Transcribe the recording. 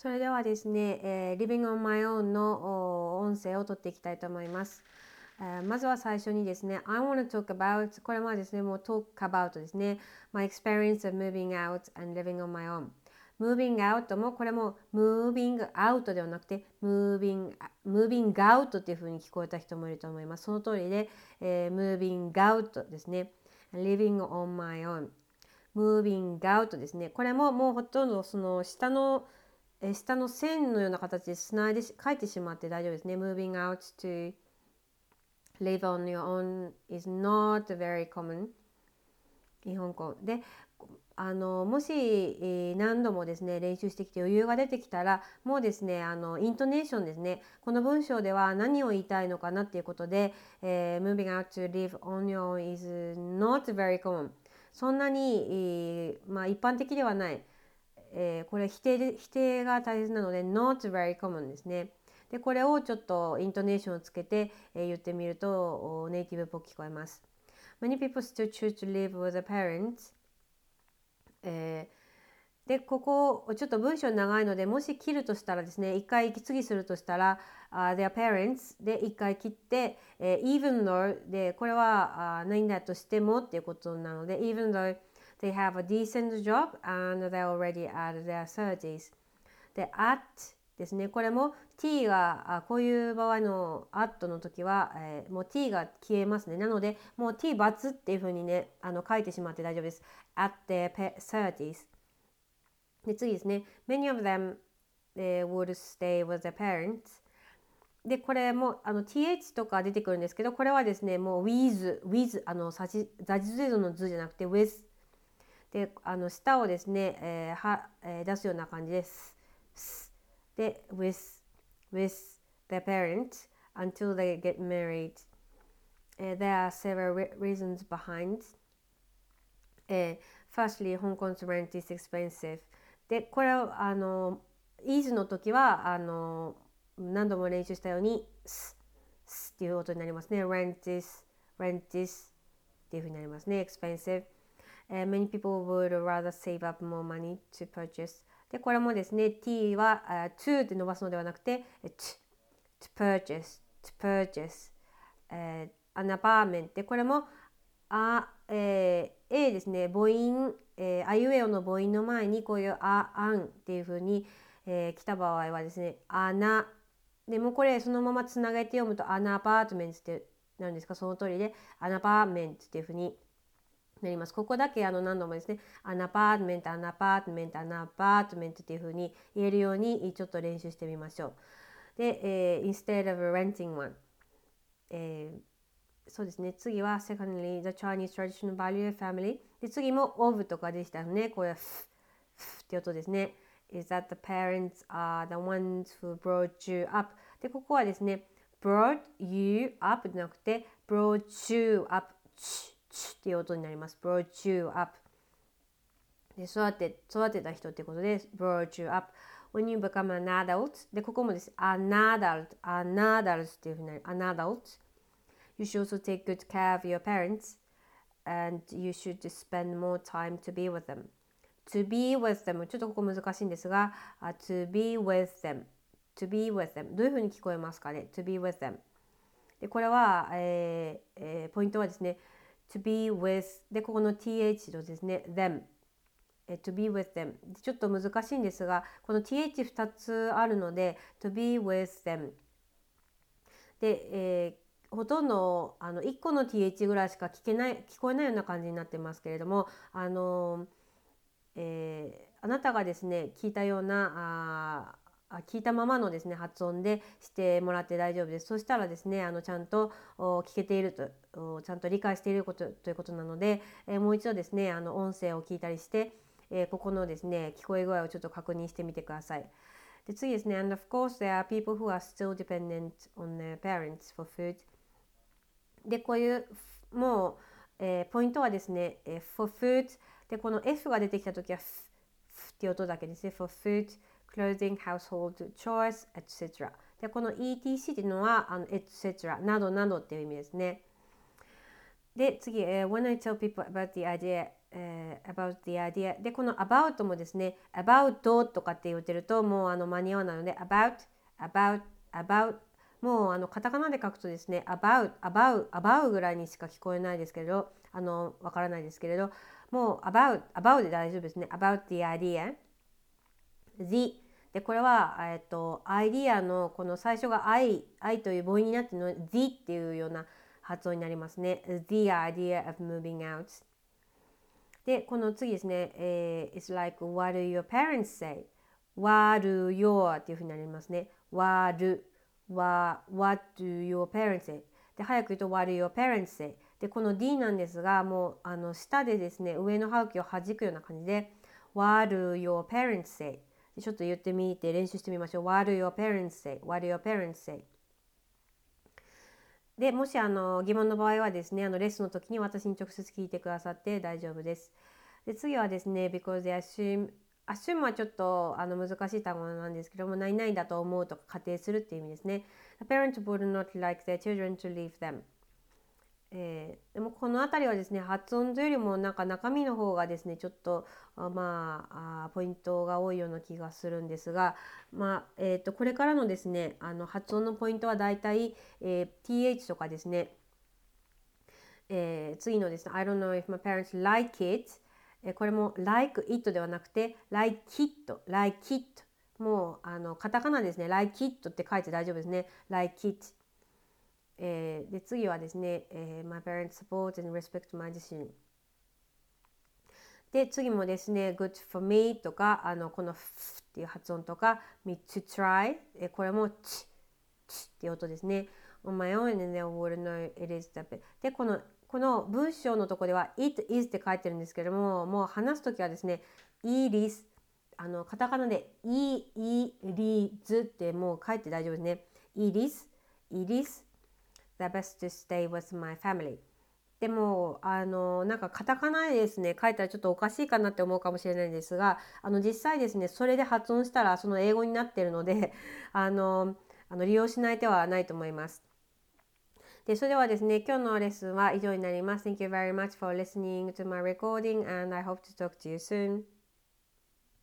それではですね、Living on My own の音声を取っていきたいと思います。まずは最初にですね、I want to talk about これはですね、もう talk about ですね、my experience of moving out and living on my own。moving out もこれも moving out ではなくて moving out っていう風に聞こえた人もいると思います。その通りで、moving out ですね。living on my own。moving out ですね。これももうほとんどその下の線のような形でつないで書いてしまって大丈夫ですね。moving out to live on your own is not very common 日本語で、もし、何度もですね練習してきて余裕が出てきたらもうですねイントネーションですね、この文章では何を言いたいのかなっていうことで、moving out to live on your own is not very common そんなに、一般的ではない、これ否定が大切なので not very common ですね。でこれをちょっとイントネーションをつけて、言ってみるとネイティブっぽく聞こえます。Many people still choose to live with their parents、でここちょっと文章長いのでもし切るとしたらですね、一回息継ぎするとしたら、their parents で一回切って、even though でこれは、何だとしてもっていうことなので even though they have a decent job and they're already at their 30s で at ですね、これも t がこういう場合の at の時は、もう t が消えますね。なのでもう t ×っていう風にね書いてしまって大丈夫です。 at their 30s で次ですね many of them、would stay with their parents でこれもth とか出てくるんですけど、これはですねもう with ザジゼドの図じゃなくて with で舌をですね、出すような感じです。で with their parents until they get married、there are several reasons behind、firstly Hong Kong's rent is expensive でこれはis の時は何度も練習したようにスっていう音になりますね。rent is っていう風になりますね。expensive、many people would rather save up more money to purchase でこれもですね t は、to って伸ばすのではなくて to purchase、an apartment でこれもA ですね母音、あいうえおの母音の前にこういうあんっていう風に、来た場合はですねでもこれそのままつなげて読むとアナパートメントってなるんですか、その通りでアナパーメントっていう風になります。ここだけ何度もですねアナパートメントっていう風に言えるようにちょっと練習してみましょう。で、instead of renting one、そうですね、次は secondly the Chinese traditional value of family で次も of とかでしたね。これはって音ですね。is that the parents are the ones who brought you up でここはですね brought you up じゃなくて brought you up っていう音になります。brought you up で育てた人ってことで brought you up when you become an adult でここもです an adult っていうふうになる an adult You should also take good care of your parents and you should spend more time to be with them. To be with them ちょっとここ難しいんですが、to be with them どういうふうに聞こえますかね。to be with them でこれは、ポイントはですね to be with でここの th とですね them to be with them ちょっと難しいんですが、この th2 つあるので to be with them で、ほとんど1個の th ぐらいしか聞こえないような感じになってますけれども、あなたがですね聞いたような聞いたままのですね発音でしてもらって大丈夫です。そしたらですねちゃんと聞けているとちゃんと理解していることということなので、もう一度ですね音声を聞いたりして、ここのですね聞こえ具合をちょっと確認してみてください。で次ですね And of course there are people who are still dependent on their parents for food でこういうもう、ポイントはですね、for food でこの F が出てきたときは っていう音だけですね。for food, clothing, household, chores, etc. でこの etc っていうのはetc などなどっていう意味ですね。で次、when I tell people about the idea about the idea で、この about もですね about とかって言ってるともう間に合わないので about もうカタカナで書くとですね about ぐらいにしか聞こえないですけれどわからないですけれどもう about で大丈夫ですね about the idea the でこれはアイディアのこの最初が I という母音になっているので the っていうような発音になりますね the idea of moving outで、この次ですね、It's like what do your parents say? What do your っていうふうになりますね。What do your parents say? で、早く言うと What do your parents say? で、この D なんですが、もう下でですね、上の歯茎を弾くような感じで What do your parents say? でちょっと言ってみて練習してみましょう。What do your parents say? What do your parents say? でもし疑問の場合はですねレッスンの時に私に直接聞いてくださって大丈夫です。で次はですね because they assume はちょっと難しい単語なんですけども何々だと思うとか仮定するっていう意味ですね。The parents would not like their children to leave them、でもこの辺りはですね発音というよりもなんか中身の方がですねちょっとポイントが多いような気がするんですが、これからのですね発音のポイントはだいたい、th とかですね、次のですね I don't know if my parents like it、これも like it ではなくて like it もうカタカナですね like it って書いて大丈夫ですね like it、で次はですね、My parents support and respect my decision で次もですね Good for me とかこの f っていう発音とか me to try、これもチっていう音ですね On my own and they would know it is the best でこの文章のところでは It is って書いてるんですけどももう話すときはですね It is カタカナで It is ってもう書いて大丈夫ですね It is the best to stay with my family でもなんかカタカナでですね書いたらちょっとおかしいかなって思うかもしれないんですが実際ですねそれで発音したらその英語になっているので利用しない手はないと思います。でそれではですね今日のレッスンは以上になります。Thank you very much for listening to my recording and I hope to talk to you soon.